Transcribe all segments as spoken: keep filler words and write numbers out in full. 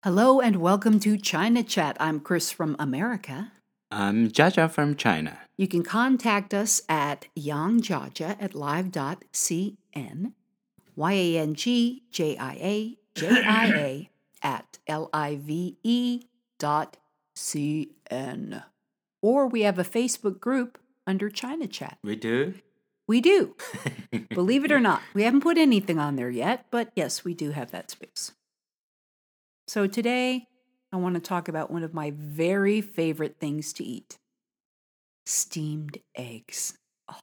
Hello and welcome to China Chat. I'm Chris from America. I'm Jaja from China. You can contact us at yangjiajia at live.cn, Y A N G J I A J I A at L I V E dot C N. Or we have a Facebook group under China Chat. We do? We do. Believe it or not. We haven't put anything on there yet, but yes, we do have that space. So today, I want to talk about one of my very favorite things to eat. Steamed eggs. Oh.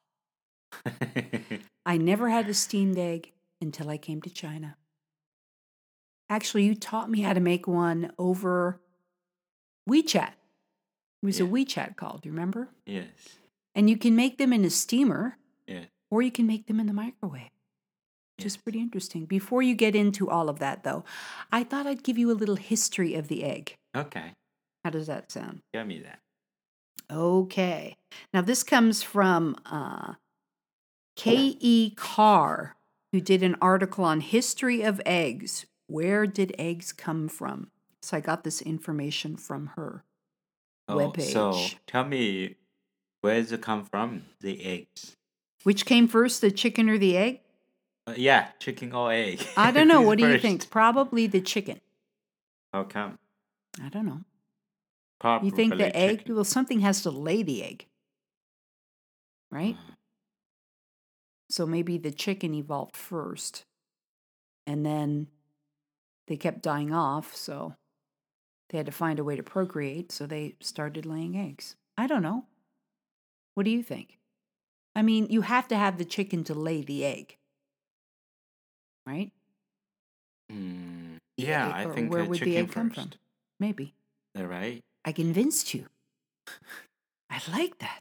I never had a steamed egg until I came to China. Actually, you taught me how to make one over WeChat. It was Yeah. a WeChat call, do you remember? Yes. And you can make them in a steamer, Yeah. or you can make them in the microwave. Which Yes. is pretty interesting. Before you get into all of that, though, I thought I'd give you a little history of the egg. Okay. How does that sound? Tell me that. Okay. Now, this comes from uh, K E. Carr, who did an article on history of eggs. Where did eggs come from? So I got this information from her Oh, webpage. so tell me, where does it come from, the eggs? Which came first, the chicken or the egg? Uh, yeah, chicken or egg. I don't know. Who's What do you first? think? Probably the chicken. How come? I don't know. Probably You think the egg? chicken. Well, something has to lay the egg, right? Uh, So maybe the chicken evolved first, and then they kept dying off, so they had to find a way to procreate, so they started laying eggs. I don't know. What do you think? I mean, you have to have the chicken to lay the egg, right? mm, yeah, I Or think where uh, would chicken the egg come first. from? Maybe. All right. I convinced you. I like that.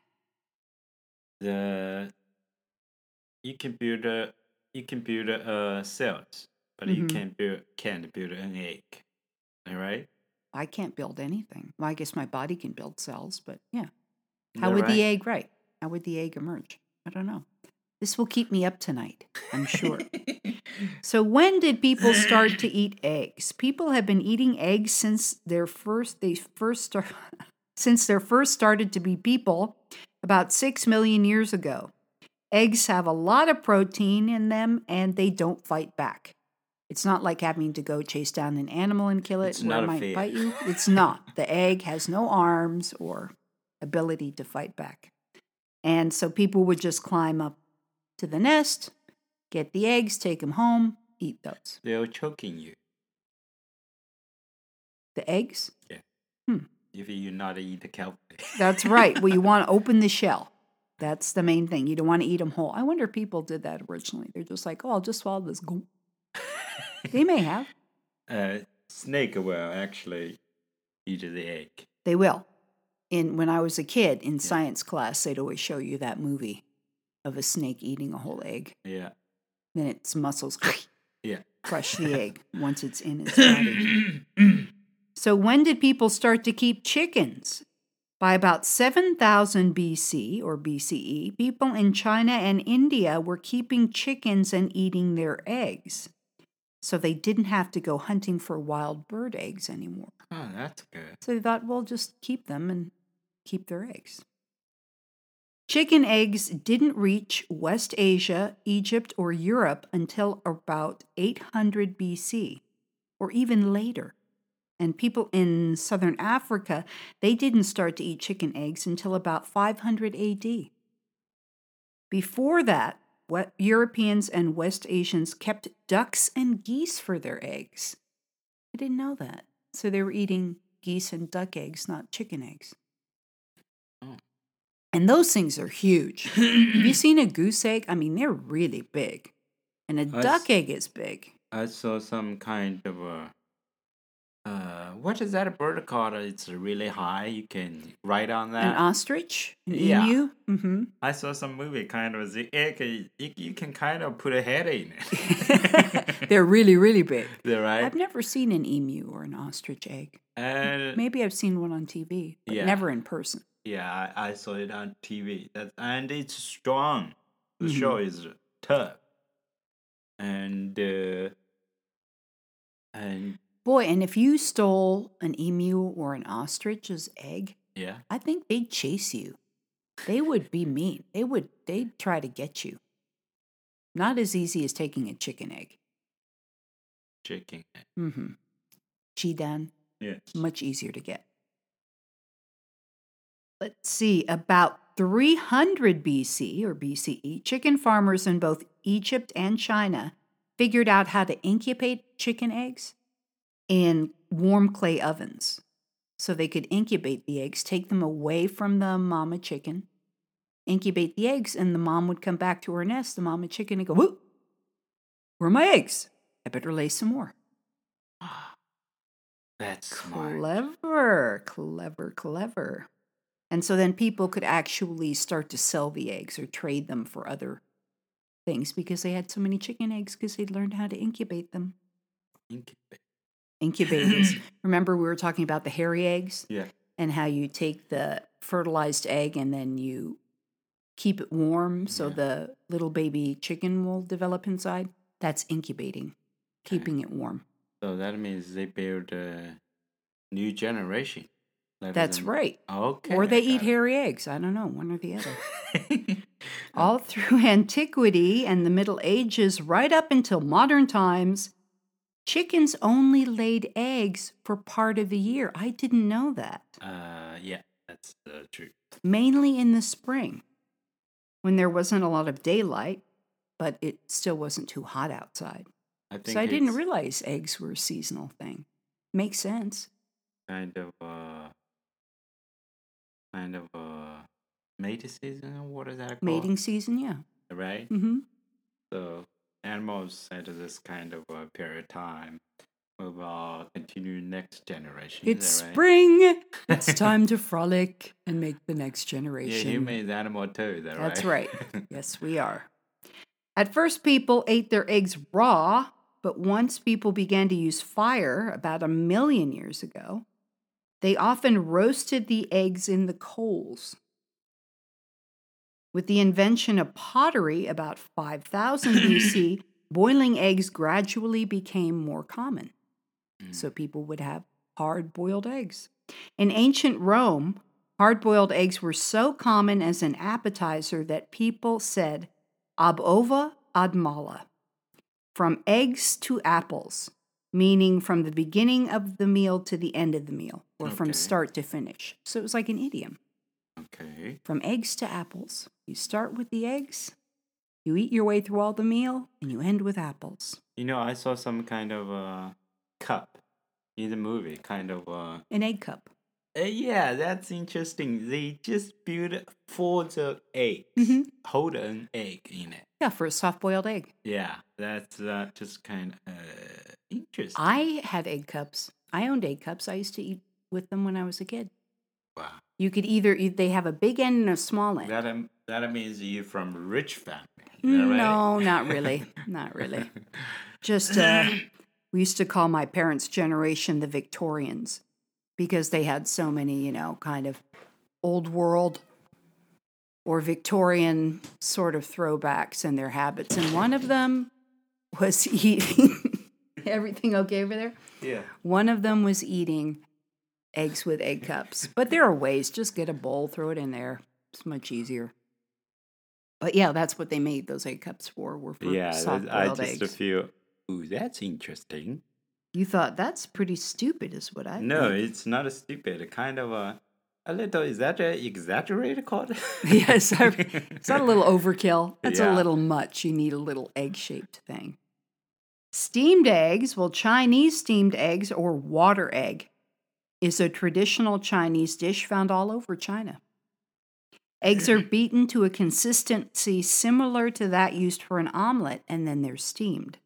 The you can build a you can build a uh, cells, but you Mhm. can't build can't build an egg. All right. I can't build anything. Well, I guess my body can build cells, but yeah. Is How that would the right? egg, right? How would the egg emerge? I don't know. This will keep me up tonight, I'm sure. So when did people start to eat eggs? People have been eating eggs since their first they first start, since there first started to be people about six million years ago. Eggs have a lot of protein in them and they don't fight back. It's not like having to go chase down an animal and kill it It's where not it a might fear. bite you. It's not. The egg has no arms or ability to fight back. And so people would just climb up to the nest, get the eggs, take them home, eat those. They're choking you. The eggs? Yeah. Hmm. If you not eat the kelp. That's right. Well, you want to open the shell. That's the main thing. You don't want to eat them whole. I wonder if people did that originally. They're just like, oh, I'll just swallow this. Goop. They may have. uh, snake will actually eat the egg. They will. In when I was a kid in science class, they'd always show you that movie of a snake eating a whole egg. Yeah. Then its muscles Yeah. crush the egg once it's in its body. So when did people start to keep chickens? By about seven thousand B C or B C E, people in China and India were keeping chickens and eating their eggs. So they didn't have to go hunting for wild bird eggs anymore. Oh, that's good. So they thought, well, just keep them and keep their eggs. Chicken eggs didn't reach West Asia, Egypt, or Europe until about eight hundred B C, or even later. And people in southern Africa, they didn't start to eat chicken eggs until about five hundred A D. Before that, what Europeans and West Asians kept ducks and geese for their eggs. I didn't know that. So they were eating geese and duck eggs, not chicken eggs. Oh. And those things are huge. Have you seen a goose egg? I mean, they're really big. And a I duck s- egg is big. I saw some kind of a. Uh, what is that bird called? It's really high. You can ride on An that. ostrich? An Yeah. emu? Mm-hmm. I saw some movie kind of the egg. You, you can kind of put a head in it. They're really, really big. They're right. I've never seen an emu or an ostrich egg. And Maybe I've seen one on T V, but Yeah. never in person. yeah, I, I saw it on T V. That and it's strong. The Mhm. show is tough. And uh, and Boy, and if you stole an emu or an ostrich's egg, Yeah. I think they'd chase you. They would be mean. They would they'd try to get you. Not as easy as taking a chicken egg. Chicken. Mm-hmm. Chidan, Yeah. much easier to get. Let's see, about three hundred B C or B C E, chicken farmers in both Egypt and China figured out how to incubate chicken eggs in warm clay ovens. So they could incubate the eggs, take them away from the mama chicken, incubate the eggs, and the mom would come back to her nest, the mama chicken, and go, "Whoop, where are my eggs? I better lay some more." That's smart. Clever, clever, clever. And so then people could actually start to sell the eggs or trade them for other things because they had so many chicken eggs because they'd learned how to incubate them. Incubate. Incubators. Remember we were talking about the hairy eggs? Yeah. And how you take the fertilized egg and then you keep it warm so Yeah. the little baby chicken will develop inside? That's incubating, keeping it warm. So that means they build a new generation. rather That's than- right. Okay. Or they I eat got hairy eggs. I don't know, one or the other. it. All through antiquity and the Middle Ages, right up until modern times, chickens only laid eggs for part of the year. I didn't know that. uh, yeah, that's uh, true. Mainly in the spring, when there wasn't a lot of daylight, but it still wasn't too hot outside. I think So I didn't it's realize eggs were a seasonal thing. Makes sense. kind of uh, kind of uh, mating season. What is that called? Mating season, yeah. Right. Mm-hmm. So animals at this kind of uh, period of time will uh, continue next generation. It's is that right? spring. It's time to frolic and make the next Yeah, generation. human animal too. Is that That's right? right. Yes, we are. At first, people ate their eggs raw, but once people began to use fire about a million years ago, they often roasted the eggs in the coals. With the invention of pottery about five thousand B C, boiling eggs gradually became more common. So people would have hard-boiled eggs. In ancient Rome, hard-boiled eggs were so common as an appetizer that people said ab ova ad mala, from eggs to apples, meaning from the beginning of the meal to the end of the meal, or from Okay. start to finish. So it was like an idiom. Okay. From eggs to apples. You start with the eggs, you eat your way through all the meal, and you end with apples. You know, I saw some kind of uh, cup in the movie. Kind of. Uh, An egg cup. uh, yeah, that's interesting. They just build for the eggs, Mhm. hold an egg in it. Yeah, for a soft-boiled egg. Yeah, that's uh, just kind of uh, interesting. I had egg cups. I owned egg cups. I used to eat with them when I was a kid. Wow. You could either, e, they have a big end and a small end. That um, that means you're from a rich family. Is that right? No, not really. Not really. Just, uh, we used to call my parents' generation the Victorians because they had so many, you know, kind of old world or Victorian sort of throwbacks in their habits. And one of them was eating, everything okay over there? Yeah. One of them was eating eggs with egg cups. But there are ways. Just get a bowl, throw it in there. It's much easier. But yeah, that's what they made those egg cups for, were for Yeah, that- I soft-boiled just eggs. feel, ooh, that's interesting. You thought that's pretty stupid, is what I No, think. it's not a stupid. Kind of a, a little. Is that a exaggerated called? Yes, I, is that a little overkill? That's a Yeah. little much. You need a little egg-shaped thing. Steamed eggs, well, Chinese steamed eggs or water egg is a traditional Chinese dish found all over China. Eggs are beaten to a consistency similar to that used for an omelet, and then they're steamed.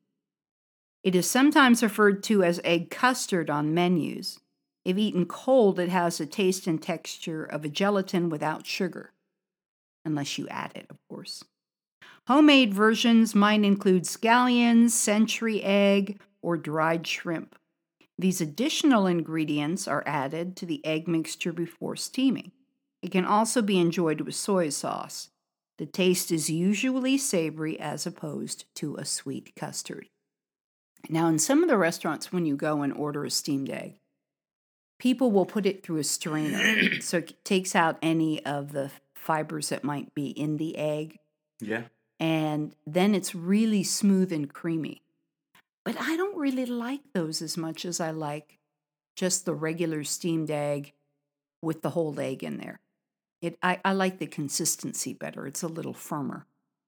It is sometimes referred to as egg custard on menus. If eaten cold, it has the taste and texture of a gelatin without sugar, unless you add it, of course. Homemade versions might include scallions, century egg, or dried shrimp. These additional ingredients are added to the egg mixture before steaming. It can also be enjoyed with soy sauce. The taste is usually savory as opposed to a sweet custard. Now, in some of the restaurants, when you go and order a steamed egg, people will put it through a strainer. So it takes out any of the fibers that might be in the egg. Yeah. And then it's really smooth and creamy. But I don't really like those as much as I like just the regular steamed egg with the whole egg in there. It I, I like the consistency better. It's a little firmer.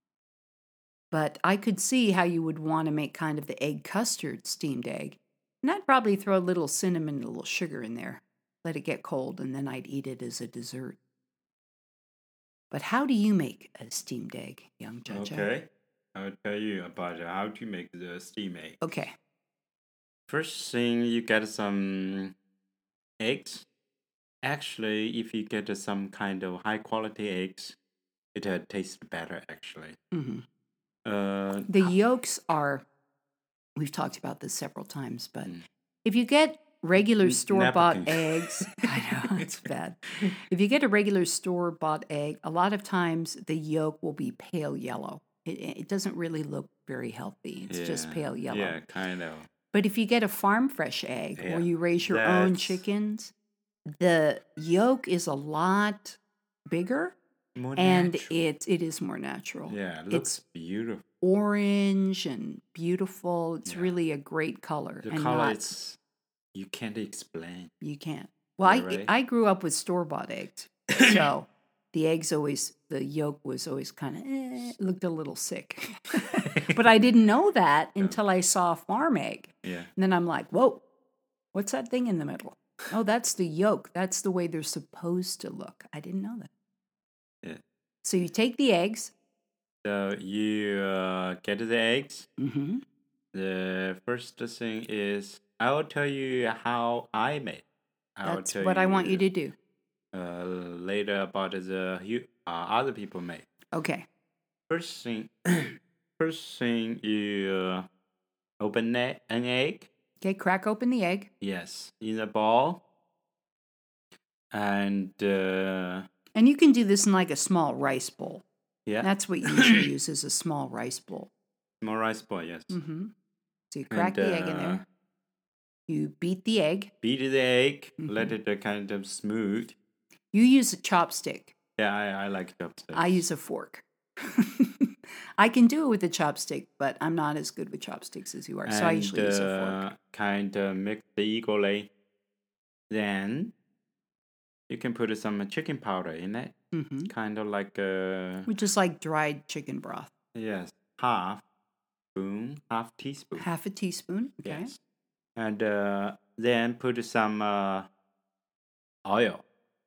But I could see how you would want to make kind of the egg custard steamed egg. And I'd probably throw a little cinnamon and a little sugar in there, let it get cold, and then I'd eat it as a dessert. But how do you make a steamed egg, young Judge? Okay. I'll tell you about how to make the steam egg. Okay. First thing, you get some eggs. Actually, if you get some kind of high quality eggs, it uh, tastes better actually. Mm-hmm. Uh, The yolks are, we've talked about this several times, but Mm. if you get regular N- store-bought napkin. eggs, I know, it's bad. If you get a regular store-bought egg, a lot of times the yolk will be pale yellow. It, it doesn't really look very healthy. It's just Yeah, pale yellow. Yeah, kind of. But if you get a farm fresh egg Yeah, or you raise your own that's chickens, the yolk is a lot bigger more and natural. it it is more natural. Yeah, it It's looks beautiful. orange and beautiful. It's Yeah. really a great color. The and color not, is you can't explain. you can't. Well, Yeah, I right? I grew up with store bought eggs, so the eggs always the yolk was always kind of eh, looked a little sick. But I didn't know that Yeah. until I saw a farm egg, Yeah. and then I'm like, whoa, what's that thing in the middle? Oh, that's the yolk. That's the way they're supposed to look. I didn't know that. Yeah. So you take the eggs. So you uh, get the eggs. Mm-hmm. The first thing is I will tell you how I made. I will That's tell what I want you to do. uh, later about the you uh, other people made. Okay. First thing, first thing you uh, open e- an egg. Okay, crack open the egg. Yes, in a bowl. And uh, And you can do this in like a small rice bowl. yeah, That's what you usually use is a small rice bowl. small rice bowl. Yes. Mm-hmm. So you crack And, the egg in uh, there. You beat the egg. Beat the egg. Let Mhm. it uh, kind of smooth. You use a chopstick. Yeah, I, I like chopsticks. I use a fork. I can do it with a chopstick, but I'm not as good with chopsticks as you are. So I And, usually use a fork. uh, kind of mix it equally. Then you can put some chicken powder in it. Mm-hmm. Kind of like uh, Which is like dried chicken broth. yes, half spoon, half teaspoon. Half a teaspoon. Okay. Yes. And uh, then put some uh, oil.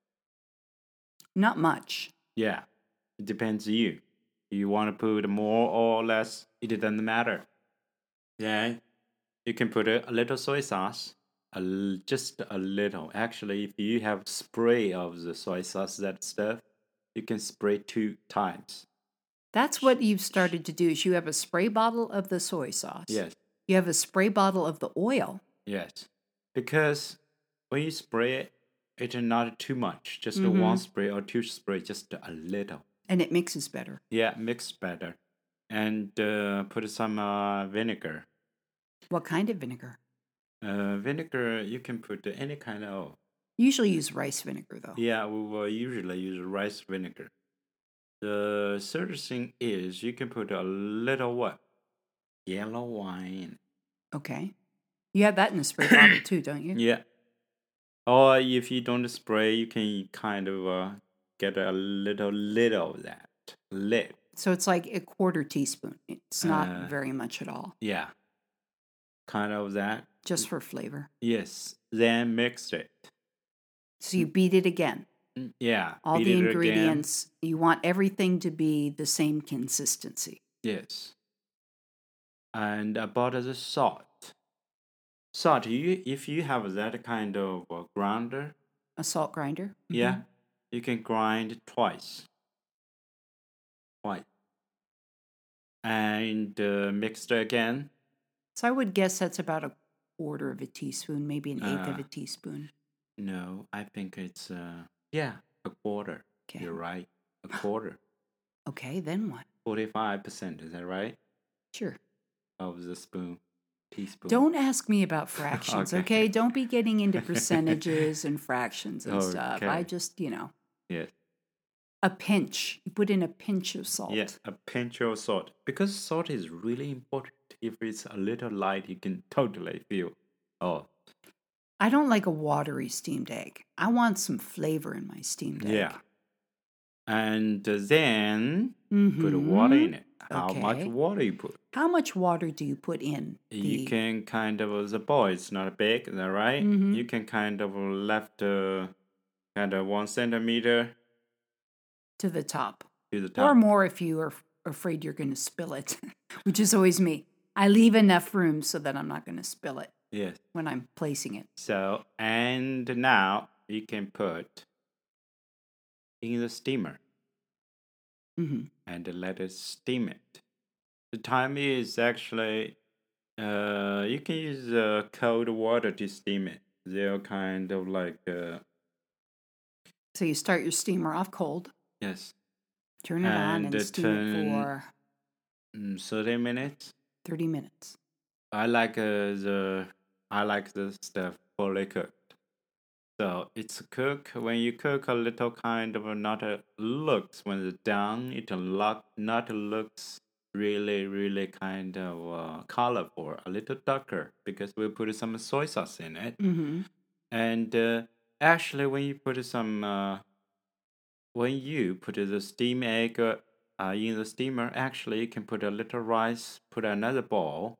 Not much. Yeah, it depends you. You want to put more or less, it doesn't matter. Then you can put a, a little soy sauce, a, l- just a little. Actually, if you have spray of the soy sauce, that stuff, you can spray two times. That's what you've started to do is you have a spray bottle of the soy sauce. Yes, You have a spray bottle of the oil. yes. Because when you spray it, it's not too much. Just a Mhm. one spray or two spray, just a little. And it mixes better. Yeah, mix better. And uh, put some uh, vinegar. What kind of vinegar? Uh, vinegar, you can put any kind of. Usually use rice vinegar though. Yeah, we will usually use rice vinegar. The third thing is you can put a little what? Yellow wine. Okay. You have that in a spray bottle too, don't you? Yeah. Or if you don't spray, you can kind of uh, get a little, little of that. Lit. So it's like a quarter teaspoon. It's not Uh, very much at all. Yeah. Kind of that. Just for flavor. Yes. Then mix it. So you beat it again. Mm, Yeah. All beat the it again. ingredients, you want everything to be the same consistency. Yes. And about the salt. Salt, you if you have that kind of uh, grinder, A salt grinder. yeah, Mhm. you can grind twice. Twice. And uh, mix it again. So I would guess that's about a quarter of a teaspoon, maybe an eighth of Uh, a teaspoon. No, I think it's uh yeah, a quarter. Okay. You're right. A quarter. Okay, then what? Forty-five percent, is that right? Sure. Of the spoon. teaspoon. Don't ask me about fractions, Okay. okay? Don't be getting into percentages and fractions and stuff. I Okay. just, you know, Yes. a pinch. You put in a pinch of salt. Yeah, a pinch of salt. Because salt is really important. If it's a little light, you can totally feel. Oh, I don't like a watery steamed egg. I want some flavor in my steamed egg. yeah. And then put water in it. How much Okay. water you put? How much water do you put in? You The can kind of, the bowl is not big, is that right? Mhm. You can kind of left uh, kind of one centimeter to the top, to the or top. more if you are f- afraid you're going to spill it, which is always me. I leave enough room so that I'm not going to spill it Yes. when I'm placing it. So, and now you can put in the steamer hmm and let it steam it. The time is actually, uh, you can use uh, cold water to steam it. They're kind of like, uh, So you start your steamer off cold, yes, turn it on, and and uh, steam it turn for mm, thirty minutes. thirty minutes. I like uh, the I like the stuff fully cooked. So it's cook when you cook a little kind of a, not a looks when it's done it look not looks really really kind of uh, colorful, a little darker because we put some soy sauce in it. Mm-hmm. And uh, actually when you put some uh, when you put the steam egg uh, uh, in the steamer, actually you can put a little rice, put another bowl,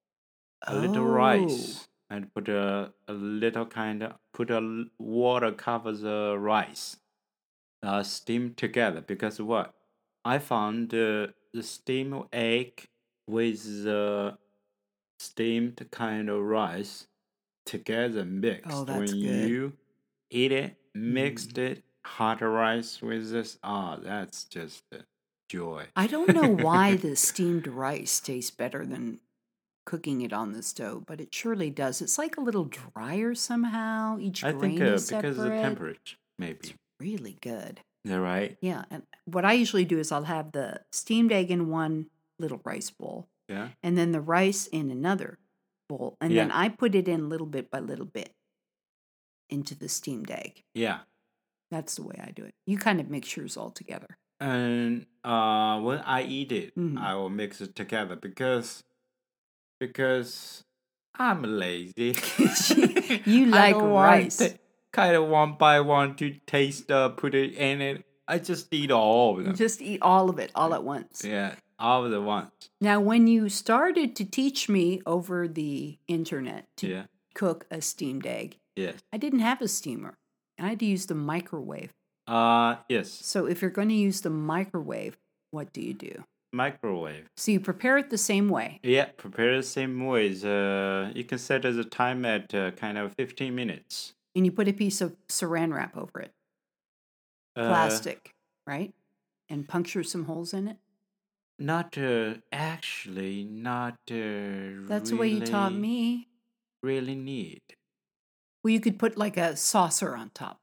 a little Oh. rice, and put a, a little kind of put a l- water cover the rice, uh, steam together. Because what I found uh, the steamed egg with the steamed kind of rice together mixed. Oh, that's when good. you eat it, mixed it, hot rice with this. Ah, that's just a joy. I don't know why the steamed rice tastes better than cooking it on the stove, but it surely does. It's like a little drier somehow. Each I grain think uh, is because of the separate. temperature, maybe. Really good. Is that right? Yeah, and what I usually do is I'll have the steamed egg in one little rice bowl, Yeah. and then the rice in another bowl, and then Yeah. I put it in little bit by little bit into the steamed egg. Yeah. That's the way I do it. You kind of mix yours all together. And uh, when I eat it, Mhm. I will mix it together because because I'm lazy. You I like don't want rice. to kind of one by one to taste, uh, put it in it. I just eat all of You them. just eat all of it all at once. Yeah, all of the once. Now, when you started to teach me over the internet to Yeah. cook a steamed egg, Yes. I didn't have a steamer. I had to use the microwave. Uh yes. So if you're going to use the microwave, what do you do? Microwave. So you prepare it the same way. Yeah, prepare the same ways. Uh, you can set the time at uh, kind of fifteen minutes. And you put a piece of saran wrap over it, Uh, plastic, right? And puncture some holes in it. Not uh, actually, not uh, That's the way you taught really- me. Really need. Well, you could put like a saucer on top.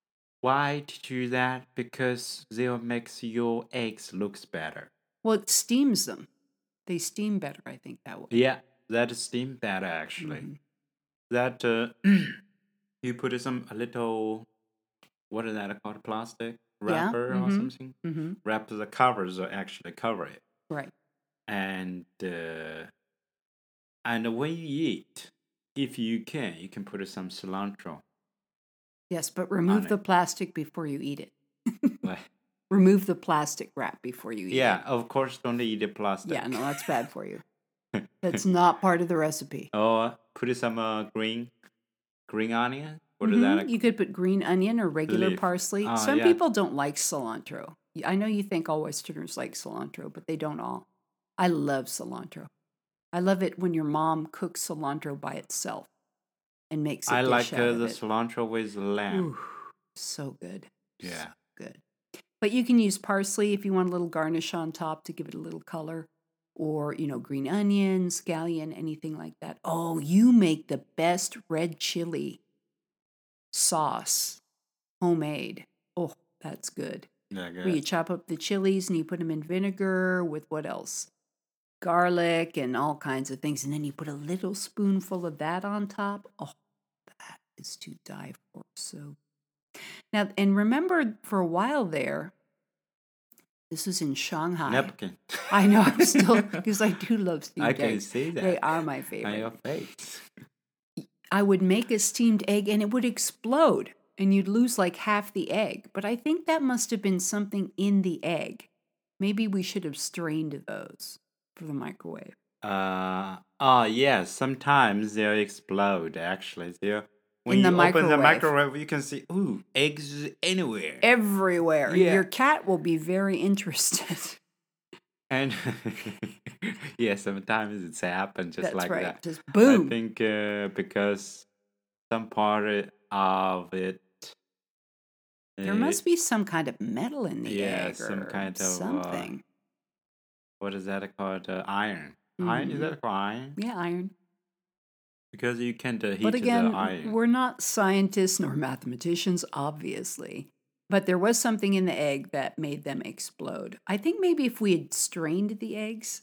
Why to do that? Because they'll makes your eggs looks better. Well, it steams them. They steam better, I think, that way. Yeah, that is steam better actually. Mhm. That uh, you put some a little, what is that called? Plastic Yeah, wrapper or mhm. something. Mm-hmm. Wrap the covers or actually cover it. Right. And uh, and when you eat, if you can, you can put some cilantro. Yes, but remove it. the plastic before you eat it. Like, Remove the plastic wrap before you eat yeah, it. of course, don't eat the plastic. Yeah, no, that's bad for you. That's not part of the recipe. Or put some uh, green, green onion. What is Mhm. that? You could put green onion or regular Leaf. parsley. Ah, Some yeah. people don't like cilantro. I know you think all Westerners like cilantro, but they don't all. I love cilantro. I love it when your mom cooks cilantro by itself and makes a I dish like out uh, of the it. cilantro with lamb. Ooh, so good. Yeah. So good. But you can use parsley if you want a little garnish on top to give it a little color. Or, you know, green onion, scallion, anything like that. Oh, you make the best red chili sauce, homemade. Oh, that's good. Yeah, Where you good. chop up the chilies and you put them in vinegar with what else? garlic and all kinds of things. And then you put a little spoonful of that on top. Oh, that is to die for. So now, and remember for a while there, this was in Shanghai. Napkin. I know, I'm still, because I do love steamed I eggs. can see that. They are my On favorite. your face. I would make a steamed egg and it would explode and you'd lose like half the egg. But I think that must have been something in the egg. Maybe we should have strained those for the microwave. Uh, oh, yes. Sometimes they'll explode, actually. They'll, when In the you open the microwave. microwave, you can see, ooh, eggs anywhere. Everywhere. Yeah. Your cat will be very interested. And yeah, sometimes it's happened just That's like right. that. Just boom. I think uh, because some part of it. There uh, must be some kind of metal in the yeah, egg some or kind of, uh, something. What is that called? Uh, iron. Iron? Is Mhm. that called iron? Yeah, iron. Because you can't uh, heat But again, the iron. we're not scientists nor mathematicians, obviously. But there was something in the egg that made them explode. I think maybe if we had strained the eggs,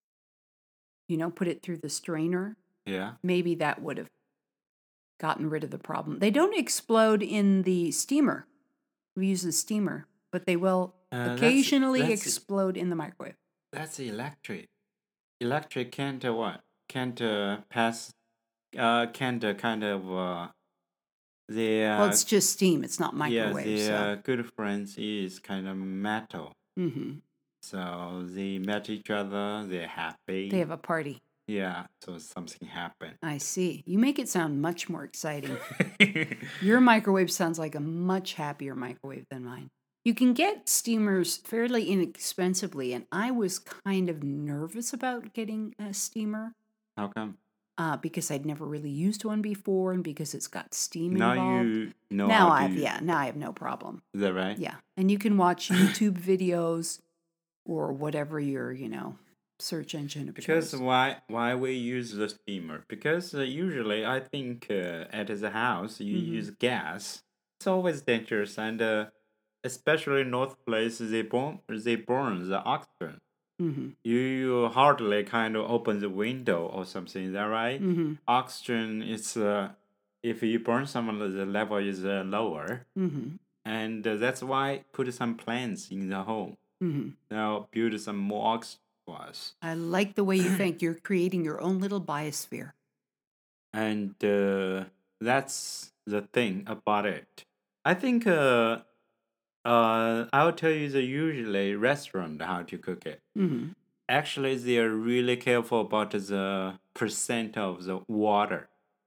you know, put it through the strainer, Yeah. maybe that would have gotten rid of the problem. They don't explode in the steamer. We use the steamer, but they will Uh, that's- occasionally that's- explode in the microwave. That's electric. Electric can't uh, what? Can't uh, pass. Uh, can't uh, kind of uh, the uh, Well, it's just steam. It's not yeah, microwave. the so. uh, good friends is kind of metal. Mhm. So they met each other. They're happy. They have a party. Yeah. So something happened. I see. You make it sound much more exciting. Your microwave sounds like a much happier microwave than mine. You can get steamers fairly inexpensively, and I was kind of nervous about getting a steamer How come? uh, because I'd never really used one before, and because it's got steam Now involved. you know now how to I've use- yeah, now I have no problem. Is that right? Yeah, and you can watch YouTube videos or whatever your you know search engine of Because choice. why why we use the steamer? Because uh, usually I think uh, at the house you Mhm. use gas. It's always dangerous, and uh, especially in North Place they burn they burn the oxygen. Mm-hmm. You, you hardly kind of open the window or something. Is that right? Mm-hmm. Oxygen is uh, if you burn someone, the level is uh, lower, Mm-hmm. and uh, that's why put some plants in the home. Mm-hmm. Now build some more oxygen for us. I like the way you think. You're creating your own little biosphere. And uh, that's the thing about it. I think uh, uh, I'll tell you the usually restaurant how to cook it. Mm-hmm. Actually, they are really careful about the percent of the water.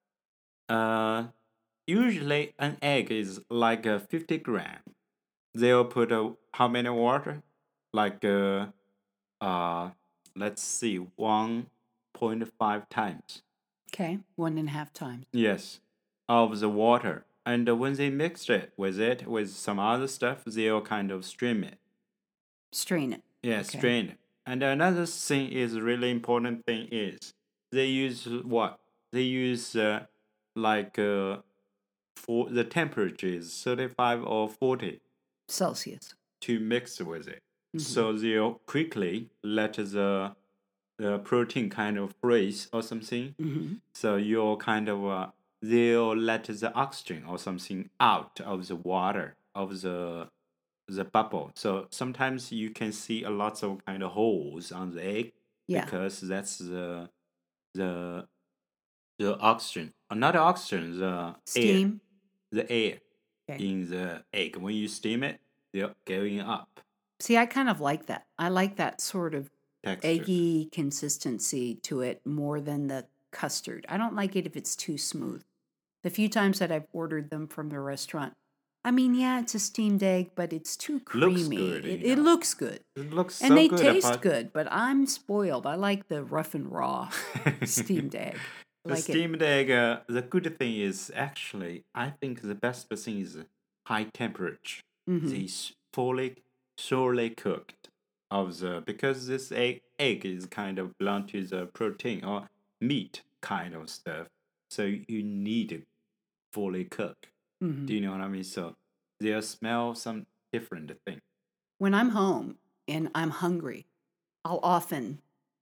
Uh, usually an egg is like uh, fifty gram. They'll put uh, how many water? Like uh, uh, let's see, one point five times. Okay, one and a half times. Yes, of the water. And uh, when they mix it with it with some other stuff, they'll kind of stream it. Strain it. Yeah, Okay. strain it. And another thing is really important thing is they use what? They use uh, like uh, for the temperature is thirty-five or forty Celsius. to mix with it. Mhm. So they'll quickly let the the protein kind of freeze or something. Mm-hmm. So you'll kind of uh, they'll let the oxygen or something out of the water of the the bubble. So sometimes you can see a lots of kind of holes on the egg Yeah. because that's the the the oxygen, uh, not the oxygen, the air, Steam. the air Okay. in the egg. When you steam it, they're going up See, I kind of like that. I like that sort of texture. eggy consistency to it more than the custard. I don't like it if it's too smooth. The few times that I've ordered them from the restaurant, I mean, yeah, it's a steamed egg, but it's too creamy. Looks good, it, you it know. looks good. It looks And so they good. taste about- good, but I'm spoiled. I like the rough and raw steamed egg. I The like it. steamed egg, uh, the good thing is actually, I think the best thing is high temperature. Mhm. They s- fully, surely cooked of the because this egg egg is kind of belong to the protein or meat kind of stuff. So you need it fully cooked. Mhm. Do you know what I mean? So they'll smell some different thing. When I'm home and I'm hungry, I'll often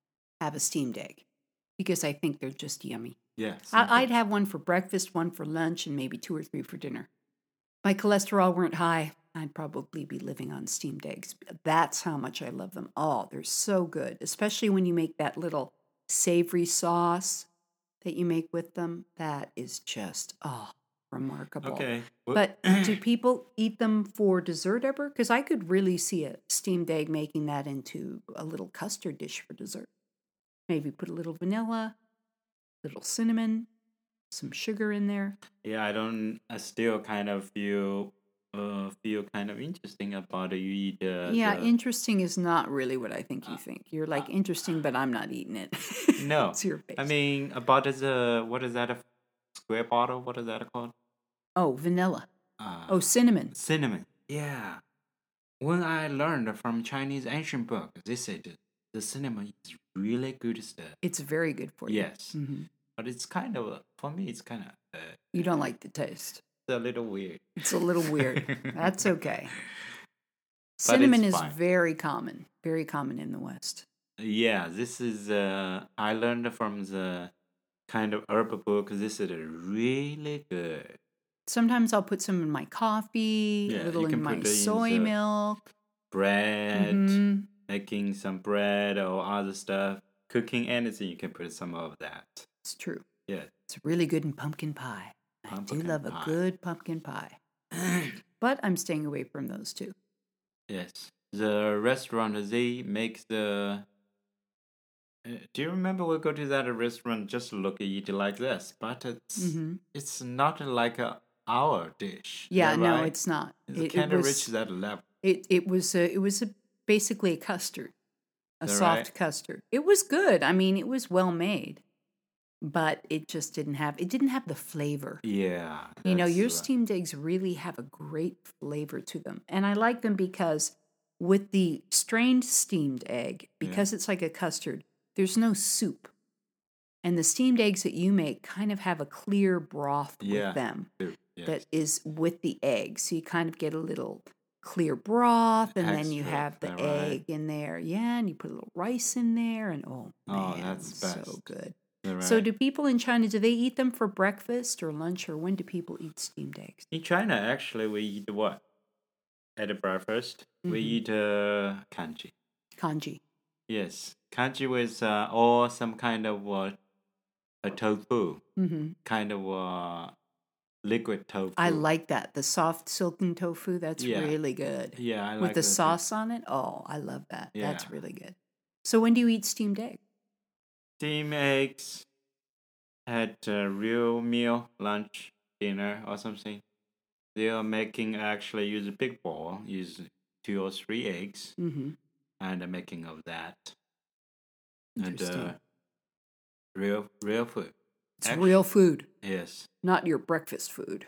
have a steamed egg because I think they're just yummy. Yeah. I, I'd have one for breakfast, one for lunch, and maybe two or three for dinner. My cholesterol weren't high, I'd probably be living on steamed eggs. That's how much I love them. Oh, they're so good, especially when you make that little savory sauce that you make with them. That is just, oh, remarkable. Okay. But do people eat them for dessert ever? Because I could really see a steamed egg making that into a little custard dish for dessert. Maybe put a little vanilla, little cinnamon, some sugar in there. Yeah, I don't. I still kind of feel, uh, feel kind of interesting about it. You eat. Uh, Yeah, the, interesting is not really what I think you Uh, think. You're like uh, interesting, but I'm not eating it. no, It's your face. I mean about the what is that a square bottle? What is that called? Oh, vanilla. Uh, Oh, cinnamon. cinnamon. Yeah. When I learned from Chinese ancient book, they said the cinnamon is really good stuff. It's very good for you. Yes, hmm but it's kind of for me. It's kind of uh, You don't like the taste. it's a little weird. It's a little weird. That's okay. But Cinnamon it's is fine. very common. Very common in the West. Yeah, this is uh I learned from the kind of herb book. This is really good. Sometimes I'll put some in my coffee, Yeah, a little you in can my put it in soy the milk. bread, hmm making some bread or other stuff, cooking anything. You can put some of that. It's true. Yeah, It's really good in pumpkin pie. I pumpkin do love pie. a good pumpkin pie. But I'm staying away from those too. Yes, the restaurant they make the. Uh, do you remember we go to that restaurant just look at it like this, but it's hmm it's not like a our dish. Is Yeah, that no, right? it's not. It's It, it kind of reach was that level. it it was a, it was a, basically a custard, a Is that soft right? custard. It was good. I mean, it was well made, but it just didn't have it didn't have the flavor. Yeah, You know, that's your right. steamed eggs really have a great flavor to them. And I like them because with the strained steamed egg, Yeah. because it's like a custard, there's no soup. And the steamed eggs that you make kind of have a clear broth Yeah. with them Soup, yes. that is with the egg. So you kind of get a little clear broth, and then you Extra, have the is that right? egg in there. Yeah, and you put a little rice in there, and oh, Oh, man, that's so best. good. Is that So right? do people in China, do they eat them for breakfast or lunch, or when do people eat steamed eggs? In China, actually, we eat what? At the breakfast, we Mhm. eat uh, kanji. Kanji. Yes, kanji with uh, or some kind of uh, a tofu, hmm kind of uh, liquid tofu. I like that. The soft silken tofu, that's Yeah. really good. Yeah, I With like the that too. sauce on it, oh, I love that. That's Yeah. really good. So when do you eat steamed egg? Steam eggs at a real meal, lunch, dinner, or something. They are making actually use a big bowl, use two or three eggs, hmm and the making of that. And Interesting. uh, real real food. It's Actu- real food, Yes. not your breakfast food.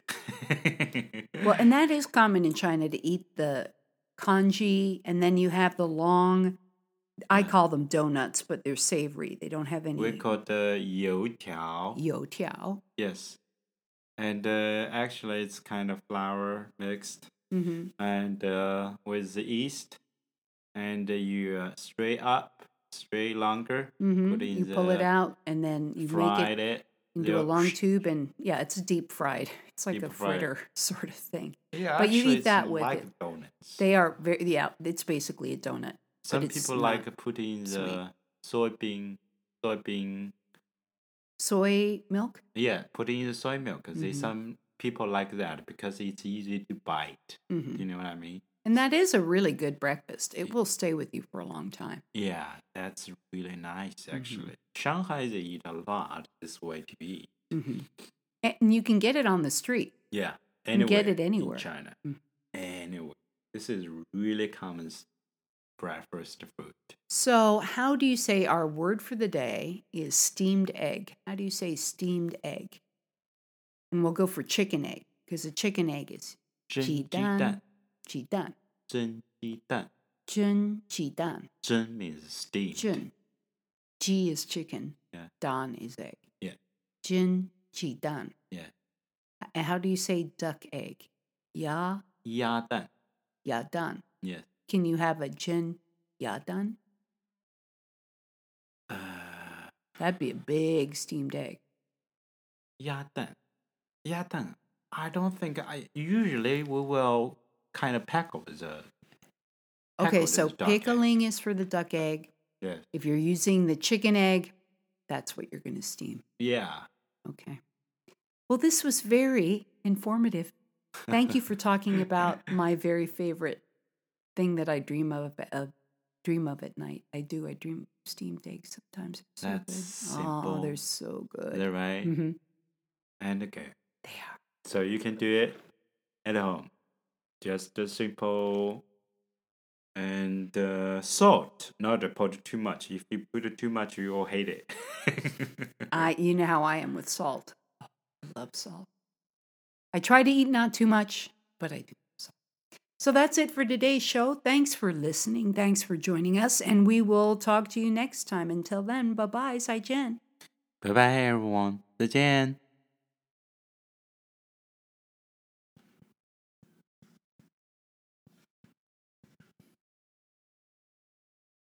Well, and that is common in China to eat the kanji, and then you have the long, I Yeah. call them donuts, but they're savory. They don't have we any call the you-tiao. youtiao. Yes. And uh, actually, it's kind of flour mixed hmm and uh, with the yeast, and uh, you uh, straight up, straight longer, hmm put in You the pull it out, and then you make fried it it. into a They'll- long tube, and yeah, it's deep fried. It's like Deep a fried. fritter sort of thing. Yeah, But you actually, eat it's that with like it. donuts. They are very, yeah, it's basically a donut. Some it's people not like putting sweet. the soybean, soybean. Soy milk? Yeah, putting in the soy milk. Cause they Mhm. some people like that because it's easy to bite. hmm You know what I mean? And that is a really good breakfast. It will stay with you for a long time. Yeah, that's really nice Mm-hmm. actually. Shanghai they eat a lot this way to eat. hmm And you can get it on the street. Yeah, can anywhere get it anywhere. in China. Mm. Anywhere. This is really common s- breakfast food. So, how do you say our word for the day is steamed egg? How do you say steamed egg? And we'll go for chicken egg because a chicken egg is 蒸鸡蛋， 蛋,鸡蛋, 蒸鸡蛋， 蒸鸡蛋, 蒸 means steamed. 蒸. Ji is chicken. Yeah. Dan is egg. Yeah. 蒸鸡蛋. Yeah. And how do you say duck egg? Ya, 鸭蛋 ya dan. Yes. Can you have a 蒸 ya dan? Uh, That'd be a big steamed egg. 鸭蛋，鸭蛋. I don't think I usually we will kind of pickle the. Okay, pickle so the duck egg. pickling is for the duck egg. Yes. If you're using the chicken egg, that's what you're going to steam. Yeah. Okay. Well, this was very informative. Thank you for talking about my very favorite thing that I dream of, uh, dream of at night. I do. I dream of steamed eggs sometimes. It's so That's good. simple. Oh, they're so good. Is that right? Mm-hmm. And okay. They are. So you can do it at home. Just the simple and uh, salt. Not to put too much. If you put it too much, you will hate it. I, you know how I am with salt. Oh, I love salt. I try to eat not too much, but I do. So. so that's it for today's show. Thanks for listening. Thanks for joining us. And we will talk to you next time. Until then, bye-bye. 再见. Bye-bye, everyone. 再见.